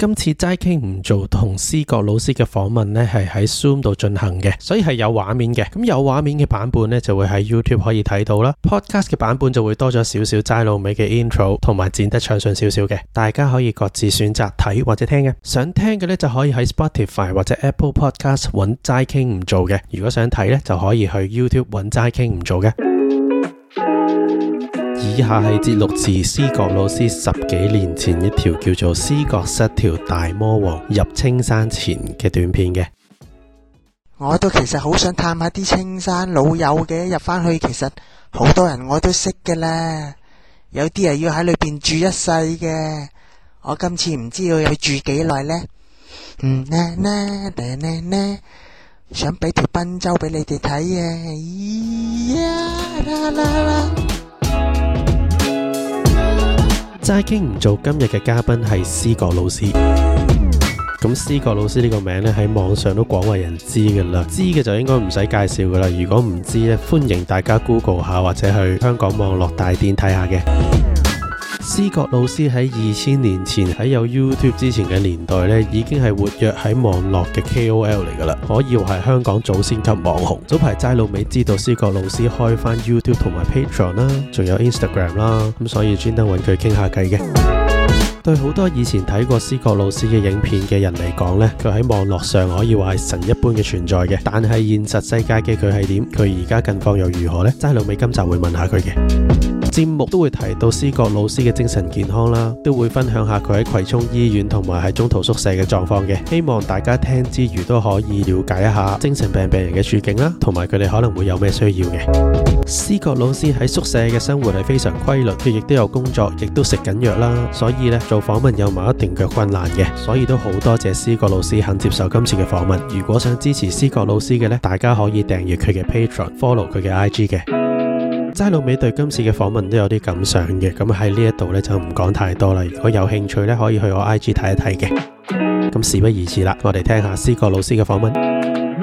今次齋傾唔做同思覺老師嘅訪問呢，係喺 Zoom 度進行嘅，所以係有畫面嘅。咁有畫面嘅版本呢，就會喺 YouTube 可以睇到啦。Podcast 嘅版本就會多咗少少齋老味嘅 intro，同埋剪得暢順少少嘅，大家可以各自選擇睇或者聽嘅。想聽嘅呢，就可以喺 Spotify 或者 Apple Podcast 揾齋傾唔做嘅。如果想睇呢，就可以去 YouTube 揾齋傾唔做嘅。以下係節錄自思覺老師10幾年前一條叫做思覺失調大魔王入青山前嘅短片嘅。 我都其實好想探下啲青山老友嘅，入返去其實好多人我都識㗎啦，有啲係要喺裏邊住一世嘅。我今次唔知道要住幾耐呢？想俾條賓州俾你哋睇啊！ 齋傾唔做今日嘅嘉賓係思覺老師。咁思覺老師呢個名咧喺網上都廣為人知㗎啦，知嘅就應該唔使介紹㗎啦。如果唔知咧，歡迎大家 Google 下或者去香港網絡大典睇下嘅。思覺老師喺2000年前喺有 YouTube 之前嘅年代咧，已經係活躍喺網絡嘅 KOL 嚟㗎啦，可以話係香港祖先級網紅。早排齋老味知道思覺老師開翻 YouTube 同埋 Patreon 啦，仲有 Instagram 啦，咁所以專登揾佢傾下偈嘅。對好多以前睇過思覺老師嘅影片嘅人嚟講呢，佢喺網絡上可以話係神一般嘅存在嘅。但係現實世界嘅佢係點？佢而家近況又如何呢？齋老味今集會問下佢嘅。節目都會提到思覺老師嘅精神健康啦，都會分享下佢喺葵涌醫院同埋喺中途宿舍嘅狀況嘅。希望大家聽之餘都可以了解一下精神病人嘅處境啦，同埋佢哋可能會有咩需要嘅。思覺老師喺宿舍嘅生活係非常規律，佢亦都有工作，亦都食緊藥啦，所以呢，做訪問有某一定嘅困難嘅，所以都好多謝思覺老師肯接受今次嘅訪問。如果想支持思覺老師嘅呢，大家可以訂閱佢嘅 Patreon，follow 佢嘅 IG 嘅。齋老味對今次嘅訪問都有啲感想嘅，咁喺呢一度呢，就唔講太多啦。如果有興趣呢，可以去我 IG 睇一睇嘅。咁事不宜遲啦，我哋聽下思覺老師嘅訪問。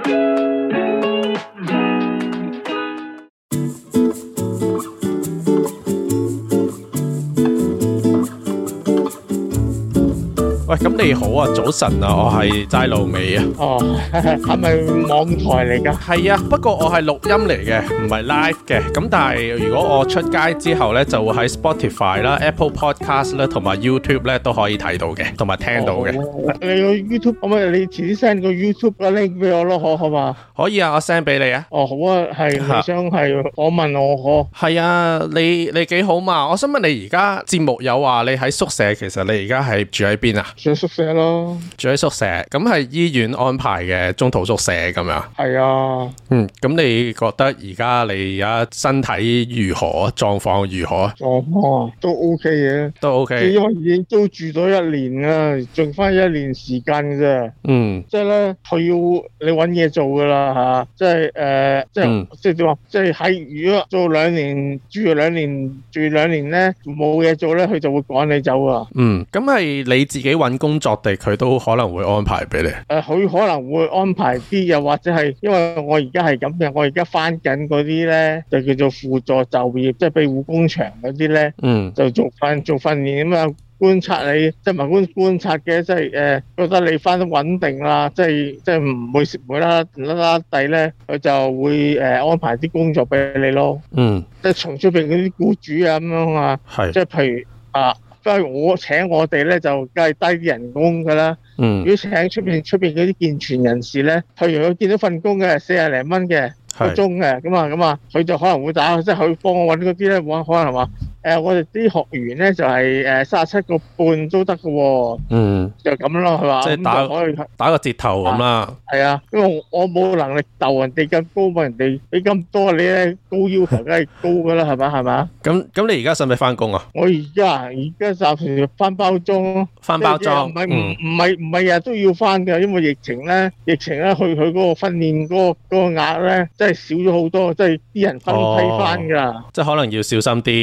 喂，咁你好啊，早晨啊，我係齋老味啊。 哦，係咪網台嚟噶？ 係啊，不過我係錄音嚟嘅，唔係 live 嘅。咁但係如果我出街之後呢，就會喺 Spotify 啦、Apple Podcast 啦同埋 YouTube 咧都可以睇到嘅，同埋聽到嘅。 你個 YouTube 可唔可以？你遲啲 send 個 YouTube 嘅 link 俾我咯，好嘛？可以啊，我 send 俾你啊。 哦，好啊，係你想係訪問我可？ 係啊，你幾好嘛？我想問你而家節目有話你喺宿舍，其實你而家係住喺邊啊？ 住喺宿舍咯， 住喺宿舍，咁係醫院安排嘅中途宿舍咁樣。 係啊， 咁你覺得而家身體如何？狀況如何？ 狀況都 OK 嘅， 都 OK。 因為已經都住咗1年啦，剩翻1年時間嘅啫。即係咧，佢要你搵嘢做噶啦吓，即係點話？即係喺如果做2年，住2年咧，冇嘢做咧，佢就會趕你走啊。 咁係你自己搵工作地，佢都可能會安排俾你。 佢可能會安排啲，又或者係因為我而家係咁嘅，我而家翻緊嗰啲咧，就叫做輔助就業，即係庇護工場嗰啲咧，就做訓練啊嘛，觀察你，即係唔係觀察嘅，即係覺得你翻得穩定啦，即係唔會蝕啦地咧，佢就會安排啲工作俾你咯。即係從出邊嗰啲僱主啊咁樣啊，即係譬如即係我請我哋咧就梗係低啲人工噶啦。如果請出邊嗰啲健全人士咧，譬如佢見到份工嘅40零蚊嘅個鐘嘅，咁啊，佢就可能會打，即係佢幫我搵嗰啲咧，可能話我哋啲學員咧就係37個半都得嘅。就咁咯，係嘛？即係可以打個折頭咁啦。係啊，因為我冇能力鬥人哋咁高嘛，人哋俾咁多你咧，高要求梗係高噶啦，係嘛？咁你而家使唔使翻工啊？ 我而家暫時翻包裝咯。 翻包裝唔係日日都要翻嘅，因為疫情咧，佢嗰個訓練嗰個額咧，真係少咗好多，即係啲人分批翻噶。 即係可能要小心啲。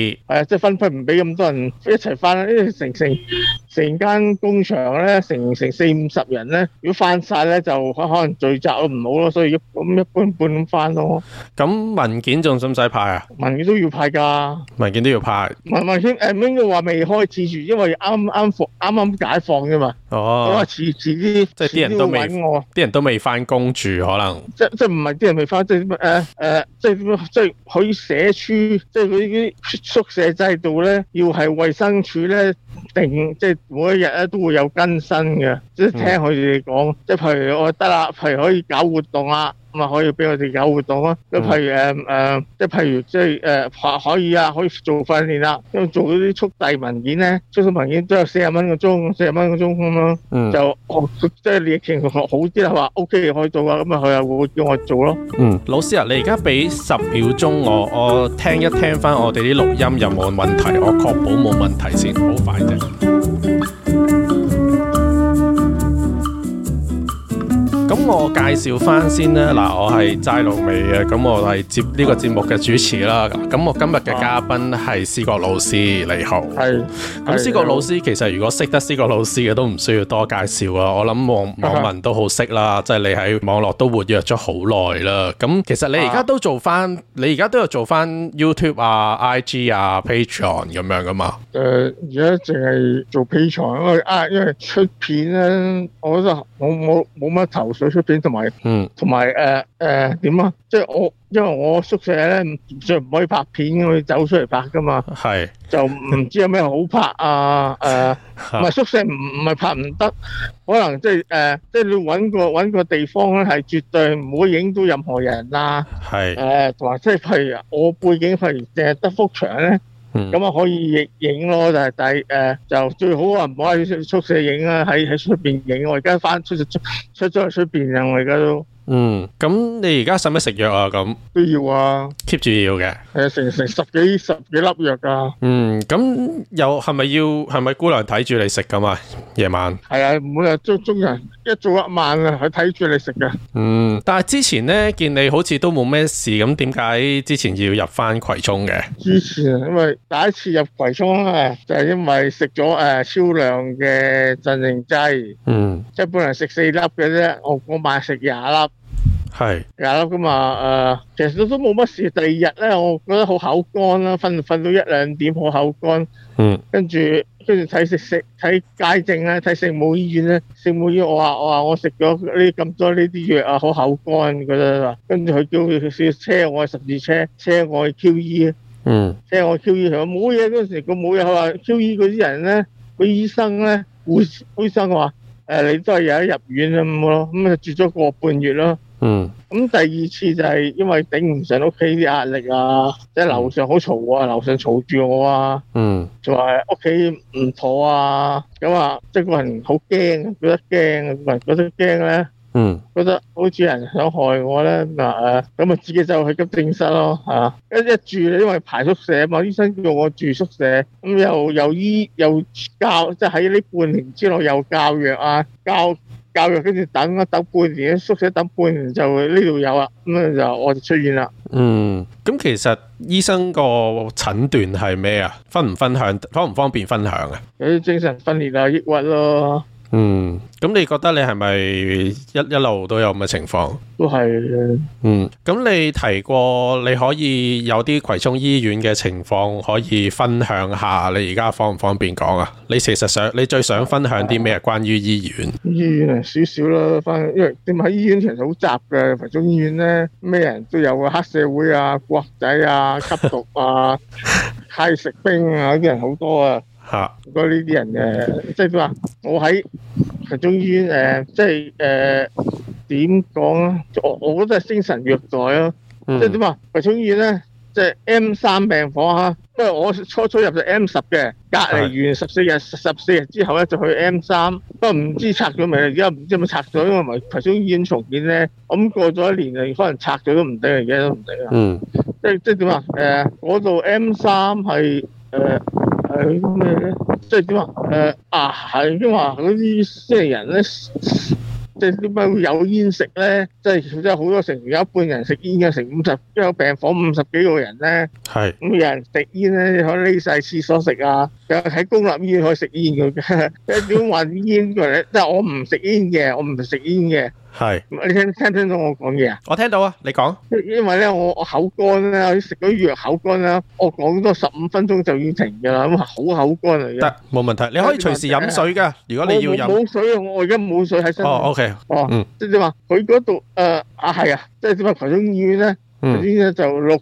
即係分唔俾咁多人一齊翻啦，因為成間工場咧，成40-50人咧，如果翻晒咧就可能聚集都唔好咯，所以一般咁翻咯。 咁文件仲使唔使派啊？ 文件都要派㗎， 文件都要派。 文件應該話未開始住，因為啱解放啫嘛。 哦， 我話遲啲， 即係啲人都未翻工住，可能即係唔係啲人未翻，即係可以社署，即係嗰啲宿舍制度咧，要係衛生署咧定，即係每一日咧都會有更新嘅，即係聽佢哋講，即係譬如我得啦，譬如可以搞活動啦。咁啊可以俾我哋搞活動咯，咁譬如即係譬如即係可以啊，可以做訓練啦，因為做嗰啲速遞文件咧，速遞文件都有40蚊個鐘咁咯，就即係疫情好啲啦，話 OK 可以做啊，咁啊佢又會叫我做咯。 老師啊，你而家俾10秒鐘我聽一聽翻我哋啲錄音有冇問題，我確保冇問題先，好快啫。咁我介紹翻先啦，嗱，我係齋老味嘅，咁我係接呢個節目嘅主持啦。咁我今日嘅嘉賓係思覺老師，你好。係。咁思覺老師其實如果識得思覺老師嘅都唔需要多介紹啊，我諗網民都好識啦，即係你喺網絡都活躍咗好耐啦。咁其實你而家都做翻，你而家都有做翻 YouTube 啊、IG 啊、Patreon 咁樣噶嘛？ 而家淨係做 Patreon，因為出片咧，我覺得冇乜頭緒出片，同埋點啊？即係因為我宿舍咧唔可以拍片，我要走出嚟拍噶嘛。係。就唔知有咩好拍啊？唔係宿舍唔係拍唔得，可能即係你揾個地方咧，係絕對唔會影到任何人啦。係。同埋即係譬如我背景譬如淨係得幅牆咧。咁啊可以影咯，但係就最好啊唔好喺宿舍影啦，喺出邊影。我而家翻出咗去出邊啊！我而家都咁你而家使唔使食藥啊？咁都要啊 ，keep 住要嘅。成十幾粒藥噶。咁又係咪姑娘睇住你食噶嘛？夜晚係啊，每日中人一早一晚啊，佢睇住你食噶。但係之前咧見你好似都冇咩事，咁點解之前要入翻葵涌嘅？之前因為第一次入葵涌啊，就係因為食咗超量嘅鎮靜劑。即係本來食4粒嘅啫，我晚食20粒。係20粒噶嘛，其實都冇乜事。第二日咧，我覺得好口乾啦，瞓到1-2點好口乾。跟住睇街症咧，睇聖母醫院咧，聖母醫院我話我食咗呢咁多呢啲藥啊，好口乾覺得。跟住佢叫佢車我去十字車我去 QE。車我去 QE，佢話冇嘢嗰陣時，佢冇嘢。佢話 QE 嗰啲人咧，個醫生咧，醫生話你都係有得入院咁咯，咁就住咗個半月咯。咁第二次就係因為頂唔順屋企啲壓力啊，即係樓上好嘈啊，樓上嘈住我啊，仲話屋企唔妥啊，咁啊，即係個人好驚，覺得驚咧，覺得好似人想害我咧，咁啊自己就去急症室咯，一住因為排宿舍啊嘛，醫生叫我住宿舍，咁又教，即係喺呢半年之內又教藥啊，教育跟住等半年，宿舍等半年就呢度有啦，咁我就出院啦。咁其實醫生個診斷係咩啊？方唔方便分享啊？有啲精神分裂啊，抑鬱咯。咁你覺得你係咪一路都有咁嘅情況？都係嘅。咁你提過你可以有啲葵涌醫院嘅情況可以分享下，你而家方唔方便講啊？你其實你最想分享啲咩關於醫院？醫院少少啦，因為點解醫院其實好雜嘅，葵涌醫院咧咩人都有啊，黑社會啊、國仔啊、吸毒啊、派食兵啊，啲人好多啊。好多呢啲人嘅，即係點話？我喺葵涌醫院即係點講啊？我覺得係精神虐待咯。即係點話？葵涌醫院咧，即係 M3病房嚇，因為我初入就 M10嘅，隔離完14日之後咧就去 M3，不過唔知拆咗未？而家唔知有冇拆咗，因為葵涌醫院重建咧，咁過咗1年可能拆咗都唔定，而家都唔定啊。即係點話？嗰度 M3係係咩咧？即係點話？係因為嗰啲即係人咧， 即係點解會有煙食咧？即係好多成有一半人食煙嘅，成50，因為病房50幾個人咧， 係咁有人食煙咧，可以匿晒廁所食啊，又喺公立醫院可以食煙嘅。即係點話煙嘅咧？即係我唔食煙嘅，我唔食煙嘅。係，你聽到我講嘢啊？ 我聽到啊，你講。 因為咧，我口乾咧，我食咗藥口乾啦，我講多15分鐘就要停噶啦，咁好口乾嚟嘅。得，冇問題，你可以隨時飲水噶。如果你要飲，冇水啊，我而家冇水喺身。哦 ，OK，即係點話？佢嗰度係啊，即係點話？葵涌醫院咧。嗰啲咧就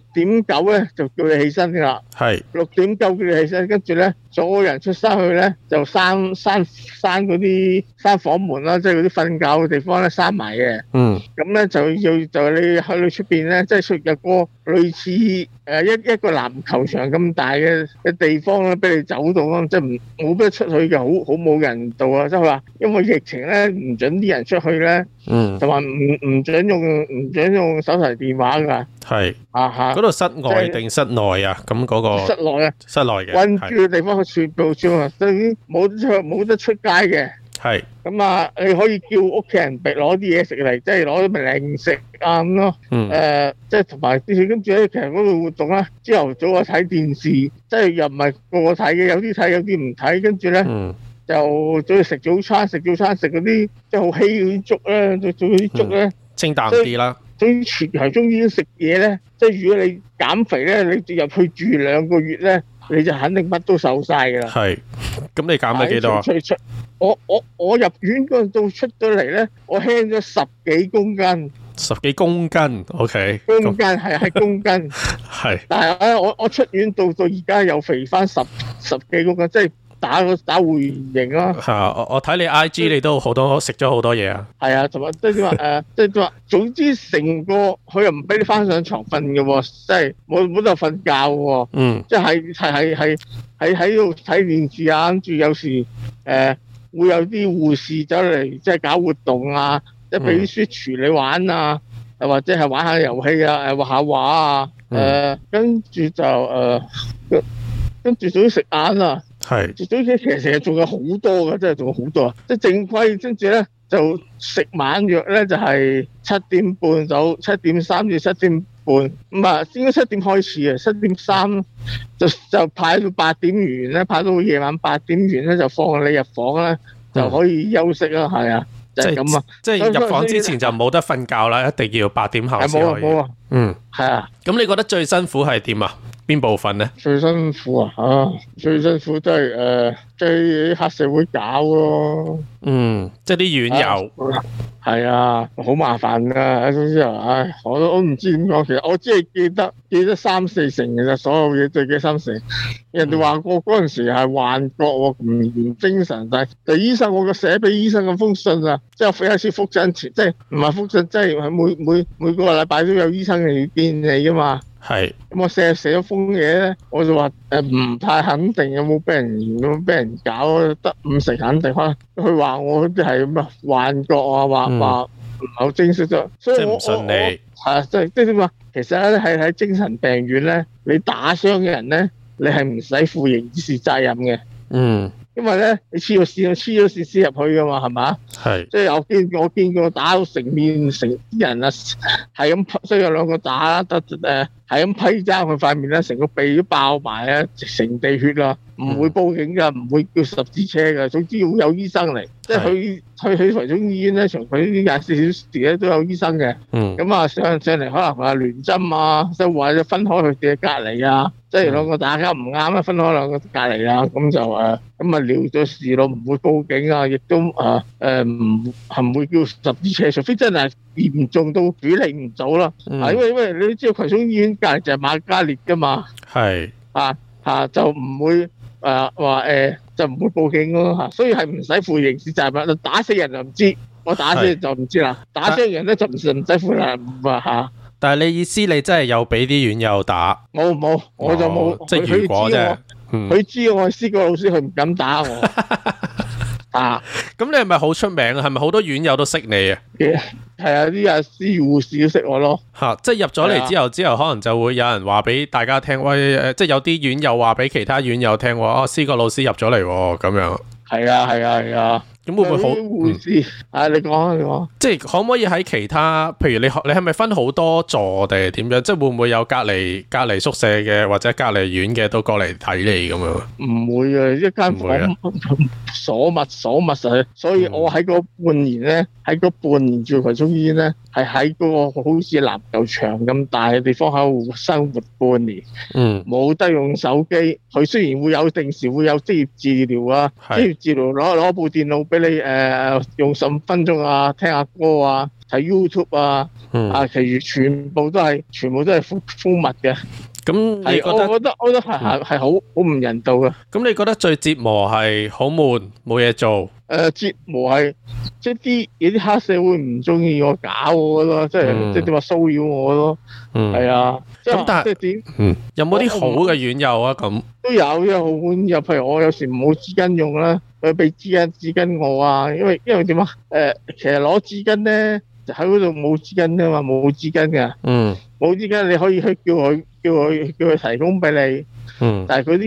6:9咧就叫你起身噶啦，係6:9叫你起身，跟住咧所有人出山去咧就閂嗰啲房門啦，即係嗰啲瞓覺嘅地方咧閂埋嘅。咁咧就你去到出邊咧，即係出入個類似一個籃球場咁大嘅地方咧，俾你走到咯，即係冇得出去嘅，好冇人道啊！即係話因為疫情咧唔准啲人出去咧，同埋唔准用手提電話噶。係嗰度室外定室內啊？咁嗰個室內啊，室內嘅困住嘅地方，佢全部都已經冇得出街嘅。係咁啊，你可以叫屋企人攞啲嘢食嚟，即係攞啲零食啊咁咯。即係同埋跟住咧，其實嗰度活動咧，朝頭早啊睇電視，即係又唔係個個睇嘅，有啲睇，有啲唔睇。跟住咧就早去食早餐，食嗰啲即係好稀嗰啲粥咧，做嗰啲粥咧清淡啲啦。對於全球中醫食嘢咧，即係如果你減肥咧，你入去住2個月咧，你就肯定乜都瘦晒噶啦。係，咁你減咗幾多啊？我入院嗰陣到出咗嚟咧，我輕咗10幾公斤。10幾公斤 ，OK。公斤係公斤。係。但係咧，我出院到而家又肥翻十幾公斤，即係。打回原形咯。係啊，我睇你 IG 你都好多食咗好多嘢啊。係啊，同埋即係點話即係點話，總之成個佢又唔俾你翻上床瞓嘅喎，即係冇得瞓覺喎。即係喺度睇電視啊，跟住有時會有啲護士走嚟即係搞活動啊，即係俾啲 Switch 你玩啊，或者係玩下遊戲啊，畫下畫啊，跟住就跟住仲要食晏啊。係，早期其實成日仲有好多嘅，真係仲有好多啊！即係正規，跟住咧就食晚藥咧，就係7:30到7:3至7:30，咁啊應該7點開始嘅，7:3就派到8點完咧，派到夜晚8點完咧就放你入房咧，就可以休息啦，係啊，就係咁啊！即係入房之前就冇得瞓覺啦，一定要8點後先可以。冇啊，係啊。咁你覺得最辛苦係點啊？邊部分咧？最辛苦啊！最辛苦都係即係黑社會搞咯。即係啲院友。係啊，好麻煩噶。總之我唔知點講。其實我只係記得3-4成嘅啫，所有嘢最記3成。人哋話我嗰陣時係幻覺，唔精神，但係醫生我寫俾醫生嘅封信啊，即係我有一次復診前，即係唔係復診，即係每個禮拜都有醫生嚟見你噶嘛。係，咁我寫咗封嘢咧，我就話唔太肯定有冇俾人搞，得5成肯定。佢話我啲係咁啊幻覺啊，話唔係好清晰啫，所以我唔信你。係即係點話？其實咧係喺精神病院咧，你打傷嘅人咧，你係唔使負刑事責任嘅。因為咧，你黐咗線先入去噶嘛，係嘛？係，即係我見過打到成啲人啊，係咁，雖然有2個打啦，係咁批爭佢塊面咧，成個鼻都爆埋啊，成地血啦，唔會報警噶，唔會叫十字車噶，總之會有醫生嚟，即係去葵涌醫院咧，從佢啲24小時咧都有醫生嘅。咁啊上嚟可能話聯針啊，即係或者分開佢哋嘅隔離啊。即係2個打交唔啱啊，分開2個隔離啊，咁就咁啊了咗事咯，唔會報警啊，亦都唔會叫十字車，除非真係嚴重到處理唔到啦。因為你知道葵涌醫院隔離就係瑪嘉烈噶嘛，係就唔會就唔會報警咯，所以係唔使負刑事責任。打死人就唔知，我打死人就唔知啦，打傷人咧就唔使負責任。但係你意思你真係有俾啲院友打？冇，我就冇。即係如果啫，佢知我係思覺老師，佢唔敢打我。咁你係咪好出名啊？係咪好多院友都識你啊？係啊，啲阿師護士都識我咯。即係入咗嚟之後，可能就會有人話俾大家聽，喂，即係有啲院友話俾其他院友聽，思覺老師入咗嚟咁樣。係啊。 咁會唔會好護士？你講， 即係可唔可以喺其他，譬如你係咪分好多座定係點樣？即係會唔會有隔離宿舍嘅或者隔離院嘅都過嚟睇你咁樣？ 唔會啊，一間房鎖密實，所以我喺嗰半年咧，住葵涌醫院咧，係喺嗰個好似籃球場咁大嘅地方喺度生活半年。冇得用手機。佢雖然會有定時會有職業治療啊，職業治療攞部電腦俾你用15分鐘啊，聽下歌啊，睇 YouTube 啊，其餘全部都係封密嘅。咁你覺得係好唔人道嘅。 咁你覺得最折磨係好悶冇嘢做？ 折磨係即係有啲黑社會唔中意我搞我咯，即係點話騷擾我咯。係啊。咁但係點？ 有冇啲好嘅院友啊？咁都有好院友，譬如我有時冇紙巾用啦，佢俾紙巾我啊。因為點啊？其實攞紙巾咧，就喺嗰度冇紙巾噶嘛，冇紙巾嘅。冇紙巾你可以去叫佢提供俾你。但係嗰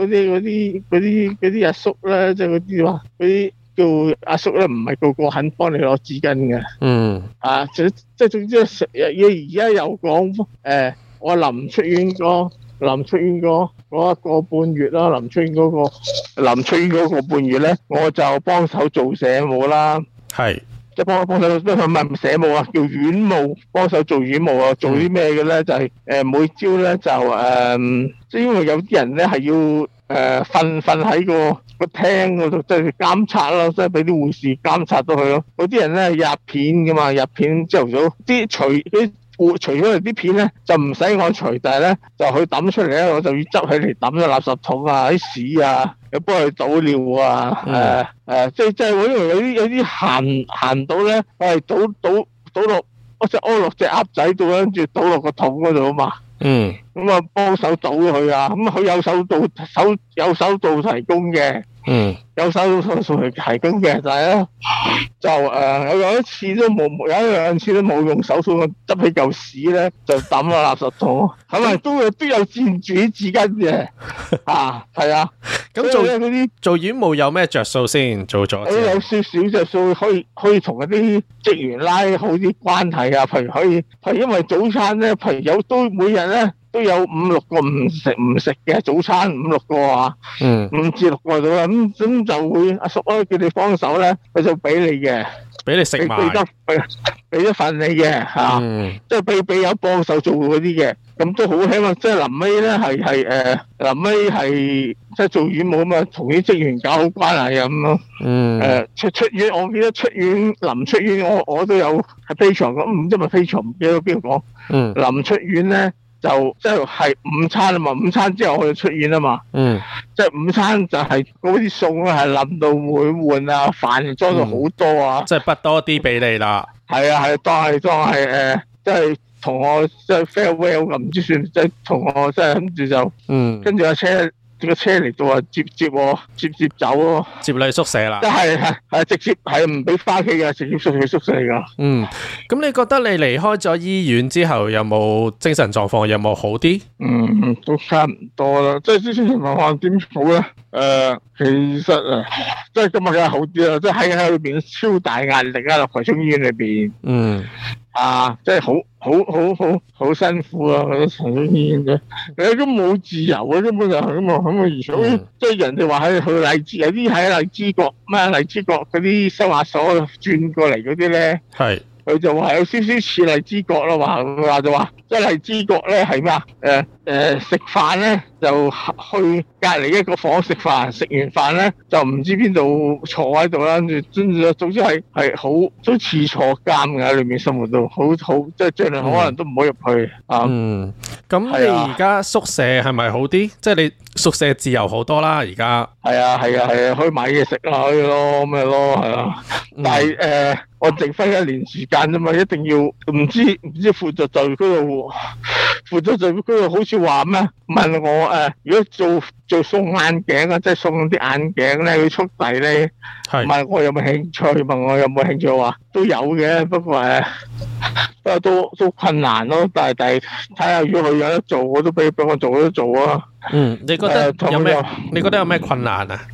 啲阿叔咧，即係嗰啲話嗰啲叫阿叔咧，唔係個個肯幫你攞紙巾嘅。即係總之而家又講我臨出院嗰個半月啦，臨出院嗰個半月咧，我就幫手做社務啦。係。即係幫手，唔係社務啊，叫院務，幫手做院務啊。做啲咩嘅咧？就係每朝咧就即係因為有啲人咧係要瞓喺個廳嗰度，即係監察咯，即係俾啲護士監察到佢咯。嗰啲人咧入片噶嘛，入片朝頭早啲除咗啲片咧就唔使我除，但係咧就佢抌出嚟咧，我就要執起嚟抌咗垃圾桶啊，啲屎啊，又幫佢倒尿啊，即係我因為有啲行到咧，我係倒落，我就屙落隻鴨仔度，跟住倒落個桶嗰度啊嘛。咁啊幫手倒佢啊，咁佢有手道提供嘅。有手道提供嘅，但係咧就有一次都冇，有兩次都冇用手套，我執起嚿屎咧就抌落垃圾桶，係咪都有佔住啲紙巾嘅？係啊。咁做院務有咩着數先？做咗有少少着數，可以同嗰啲職員拉好啲關係啊。譬如係因為早餐咧，譬如都每日咧都有5-6個唔食嘅早餐，5-6個啊，5至6個到啦。咁就會阿叔叫你幫手咧，佢就俾你嘅， 俾你食埋， 俾一份你嘅即係俾有幫手做嗰啲嘅，咁都好。希望即係臨尾咧臨尾係即係做院務咁啊，同啲職員搞好關係咁咯。出院，我記得臨出院我都有喺飛床咁，唔知咪飛床唔記得邊度講。臨出院咧。就即係午餐啊嘛，午餐之後我就出院啊嘛。即係午餐就係嗰啲餸咧係冧到會換啊，飯裝到好多啊。 即係筆多啲俾你啦。係啊，當係即係同我即係 farewell 咁，唔知算即係同我即係跟住就跟住個車嚟到啊，接我走咯， 接你宿舍啦。 即係直接係唔俾翻屋企嘅，直接送去宿舍噶。 咁你覺得你離開咗醫院之後，有冇精神狀況有冇好啲？ 都差唔多啦。即係精神狀況點好咧？其實即係今日梗係好啲啦。即係喺裏邊超大壓力啊，葵涌醫院裏邊。即係好辛苦啊！嗰啲葵涌醫院啫，你都冇自由啊，根本就係咁啊，咁啊，而且即係人哋話喺去荔枝，有啲喺荔枝角荔枝角嗰啲收押所轉過嚟嗰啲咧，佢就話有少少似荔枝角咯，話就話即係荔枝角咧係咩啊？食飯咧就去隔離一個房食飯，食完飯咧就唔知邊度坐喺度啦，跟住總之係好都似坐監嘅，裏面生活到好即係盡量可能都唔好入去。 咁你而家宿舍係咪好啲？即係你宿舍自由好多啦，而家。係啊， 可以買嘢食啦，可以咯，咩咯，係啊。但係我剩翻1年時間啫嘛，一定要唔知負責就嗰度好似話咩？問我如果做送眼鏡啊，即係送啲眼鏡咧，佢速遞咧，問我有冇興趣？問我有冇興趣話都有嘅，不過都困難咯。但係睇下如果佢有得做，我都俾我做都做啊。 你覺得有咩？你覺得有咩困難啊？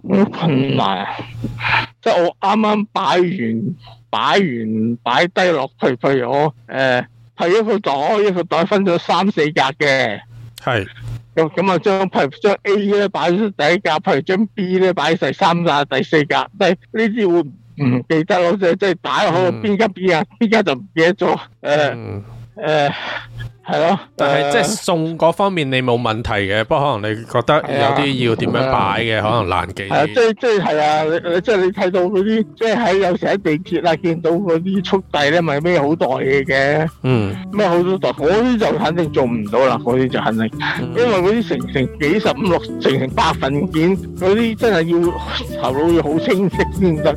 好困難啊！即係我啱啱擺低落去，譬如我係一個袋分咗3、4格嘅， 係咁啊將 A 咧擺咗第一格，譬如將 B 咧擺第3格、第4格，但係呢啲會唔記得咯，即係打落去邊間就唔記得咗，係咯， 但係即係送嗰方面你冇問題嘅，不過可能你覺得有啲要點樣擺嘅，可能難記啲。 即係啊，即係你睇到嗰啲，即係有時喺地鐵啊見到嗰啲速遞咧，咪孭好袋嘢嘅。孭好多袋，嗰啲就肯定做唔到啦，嗰啲就肯定，因為嗰啲成幾十5、6成百份件，嗰啲真係要頭腦要好清晰先得。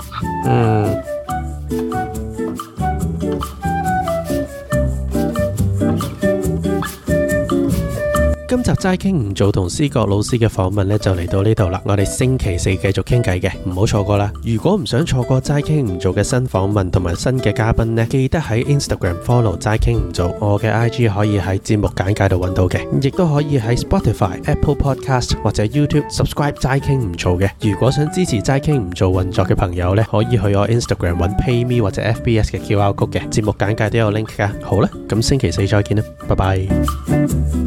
今集齋傾唔做同思覺老師嘅訪問呢，就嚟到呢度啦，我哋星期4繼續傾偈嘅，唔好錯過啦。如果唔想錯過齋傾唔做嘅新訪問同埋新嘅嘉賓呢，記得喺 Instagram follow 齋傾唔做，我嘅 IG 可以喺節目簡介度揾到嘅，亦都可以喺 Spotify、Apple Podcast 或者 YouTube subscribe 齋傾唔做嘅。如果想支持齋傾唔做運作嘅朋友呢，可以去我 Instagram 揾 PayMe 或者 FBS 嘅 QR code 嘅，節目簡介都有 link 噶。好啦，咁星期4再見啦，拜拜。